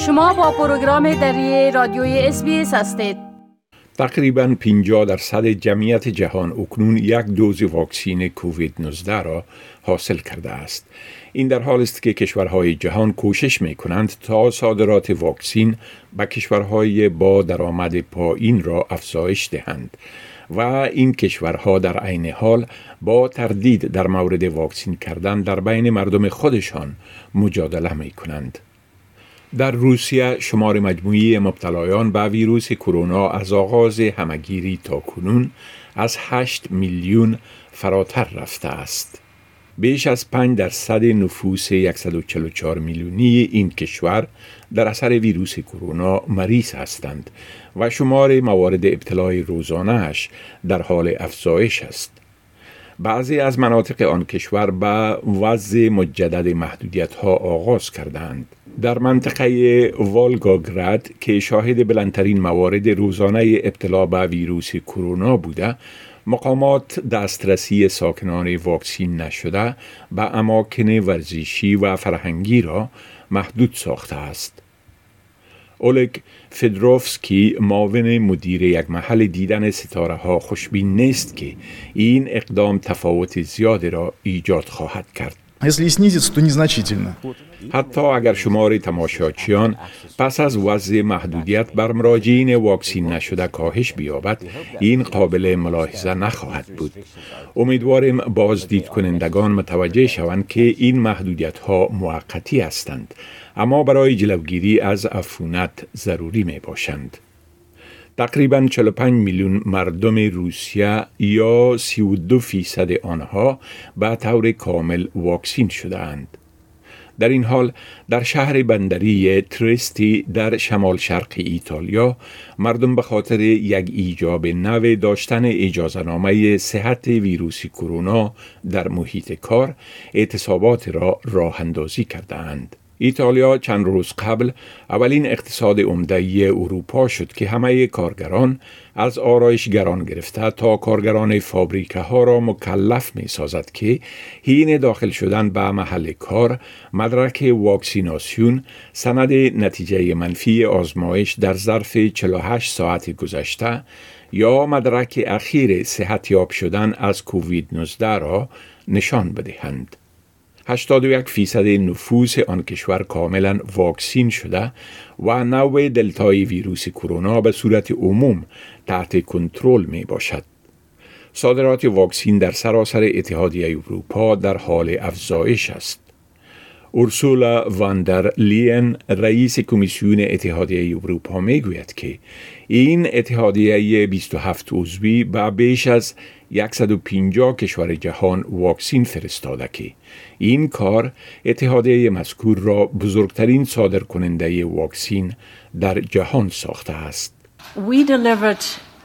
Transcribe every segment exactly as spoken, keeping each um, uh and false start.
شما با پروگرام دری رادیوی اس بی اس هستید. تقریباً پنجاه درصد جمعیت جهان اکنون یک دوز واکسین کووید نوزده را حاصل کرده است. این در حال است که کشورهای جهان کوشش می کنند تا صادرات واکسین به کشورهای با درآمد پایین را افزایش دهند و این کشورها در عین حال با تردید در مورد واکسین کردن در بین مردم خودشان مجادله می کنند. در روسیه شمار مجموعی مبتلایان به ویروس کرونا از آغاز همهگیری تا کنون از هشت میلیون فراتر رفته است. بیش از پنج درصد نفوس صد و چهل و چهار میلیونی این کشور در اثر ویروس کرونا مریض هستند و شمار موارد ابتلای روزانه‌اش در حال افزایش است. بعضی از مناطق آن کشور به وضع مجدد محدودیت‌ها آغاز کردند. در منطقه والگاگراد که شاهد بلندترین موارد روزانه ابتلا به ویروس کرونا بوده، مقامات دسترسی ساکنان واکسین نشده به اماکن ورزشی و فرهنگی را محدود ساخته است. اولگ فدروفسکی معاون مدیر یک محل دیدن ستاره ها خوشبین نیست که این اقدام تفاوت زیاد را ایجاد خواهد کرد. حتی اگر شمار تماشاچیان پس از وضع محدودیت بر مراجعین واکسین نشده کاهش بیابد، این قابل ملاحظه نخواهد بود. امیدواریم بازدید کنندگان متوجه شوند که این محدودیت ها موقتی هستند، اما برای جلوگیری از عفونت ضروری می باشند. تقریباً چهل و پنج میلیون مردم روسیه یا سی و دو فیصد آنها به طور کامل واکسین شده اند. در این حال در شهر بندری تریستی در شمال شرق ایتالیا مردم به خاطر یک ایجاب نو داشتن اجازه‌نامه صحت ویروس کرونا در محیط کار اعتصابات را راه اندازی کرده اند. ایتالیا چند روز قبل اولین اقتصاد عمده اروپا شد که همه کارگران از آرایشگران گرفته تا کارگران فابریکه ها را مکلف می سازد که حین داخل شدن به محل کار مدرک واکسیناسیون، سند نتیجه منفی آزمایش در ظرف چهل و هشت ساعت گذشته یا مدرک اخیر صحتیاب شدن از کووید نوزده را نشان بدهند. هشتاد و یک فیصد نفوس آن کشور کاملا واکسین شده و نوع دلتای ویروس کرونا به صورت عموم تحت کنترل می باشد. صادرات واکسین در سراسر اتحادیه اروپا در حال افزایش است. اورسولا واندر لین رئیس کمیسیون اتحادیه اروپا می گوید که این اتحادیه بیست و هفت عضوی به بیش از صد و پنجاه کشور جهان واکسین فرستاده که این کار اتحادیه مذکور را بزرگترین صادرکننده واکسین در جهان ساخته است. We delivered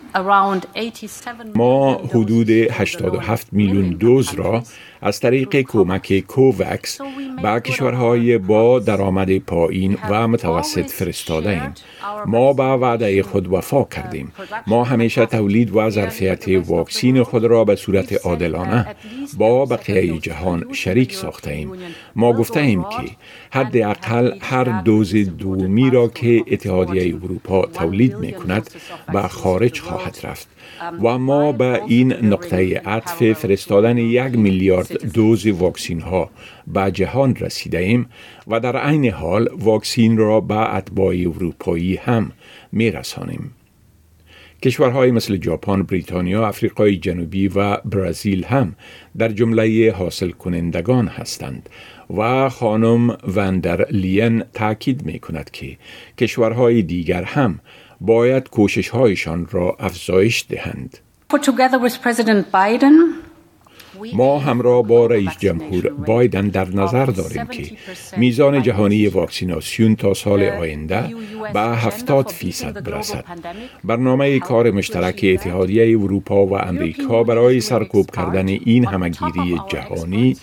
ما حدود هشتاد و هفت میلیون دوز را از طریق کمک کووکس به کشورهای با درآمد پایین و متوسط فرستاده ایم. ما به وعده خود وفا کردیم. ما همیشه تولید و ظرفیت واکسین خود را به صورت عادلانه با بقیه جهان شریک ساخته ایم. ما گفته ایم که حداقل هر دوز دومی را که اتحادیه اروپا تولید می کند به خارج خواهد رفت و ما به این نقطه عطف فرستادن یک میلیارد دوز واکسین ها به جهان رسیده ایم و در عین حال واکسین را به اتباع اروپایی هم می رسانیم. کشورهای مثل ژاپن، بریتانیا، آفریقای جنوبی و برزیل هم در جمله حاصل کنندگان هستند و خانم واندر لین تاکید می کند که کشورهای دیگر هم باید کوشش‌هایشان را افزایش دهند. ما همراه با رئیس جمهور بایدن در نظر داریم که میزان جهانی واکسیناسیون تا سال آینده به هفتاد فیصد برسد. برنامه کار مشترک اتحادیه اروپا و امریکا برای سرکوب کردن این همهگیری جهانی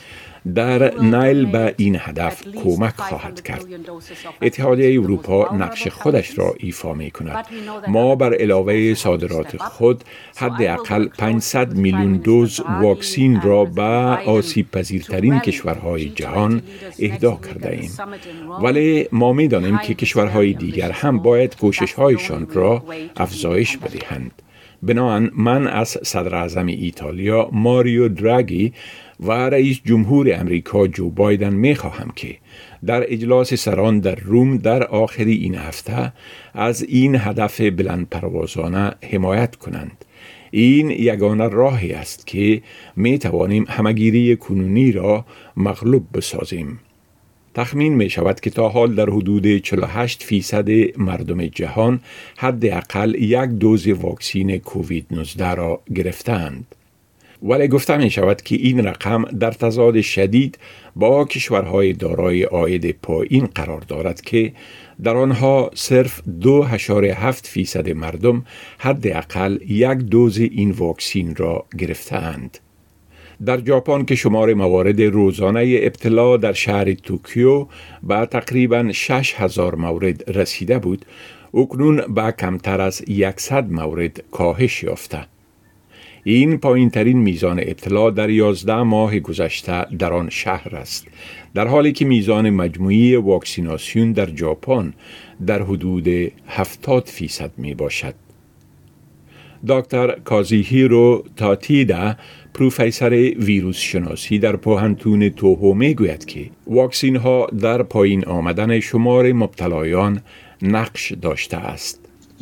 در نیل به این هدف کمک خواهد کرد. اتحادیه اروپا نقش خودش را ایفا می کند. ما بر علاوه صادرات خود حداقل پانصد میلیون دوز واکسین را به آسیب پذیرترین کشورهای جهان اهدا کرده ایم. ولی ما می دانیم که کشورهای دیگر هم باید کوشش‌هایشان را افزایش بدهند. بنابراین من از صدر اعظم ایتالیا ماریو دراگی و رئیس جمهور امریکا جو بایدن می خواهم که در اجلاس سران در روم در آخر این هفته از این هدف بلند پروازانه حمایت کنند. این یگانه راهی است که می توانیم همگیری کنونی را مغلوب بسازیم. تخمین می شود که تا حال در حدود چهل و هشت فیصد مردم جهان حداقل یک دوز واکسین کووید نوزده را گرفتند. ولی گفته می شود که این رقم در تضاد شدید با کشورهای دارای عاید پایین قرار دارد که در آنها صرف دو اشاره هفت فیصد مردم حداقل یک دوز این واکسین را گرفتند. در ژاپن که شمار موارد روزانه ابتلا در شهر توکیو به تقریباً شش هزار مورد رسیده بود، اکنون به کمتر از صد مورد کاهش یافته. این پایین ترین میزان ابتلا در یازده ماه گذشته در آن شهر است، در حالی که میزان مجموعی واکسیناسیون در ژاپن در حدود هفتاد فیصد می باشد. دکتر کازیهیرو تاتیدا، پروفسور ویروس شناسی در پوهنتون توهو می گوید که واکسین ها در پایین آمدن شمار مبتلایان نقش داشته است.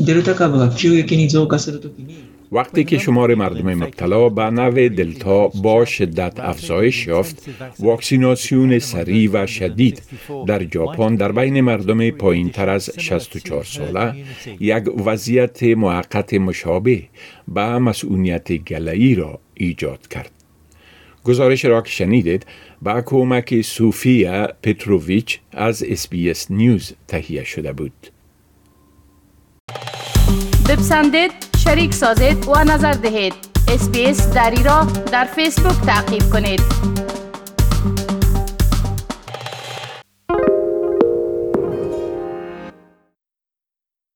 وقتی که شمار مردم مبتلا به نوع دلتا با شدت افزایش یافت، واکسیناسیون سریع و شدید در ژاپن در بین مردم پایین تر از شصت و چهار ساله یک وضعیت موقت مشابه به مسئولیت گله‌ای را ایجاد کرد. گزارش را که شنیدید با کمک سوفیا پتروویچ از اس بی اس نیوز تهیه شده بود. بپسندید، شریک سازید و نظر دهید. اس بی اس دری را در فیسبوک تعقیب کنید.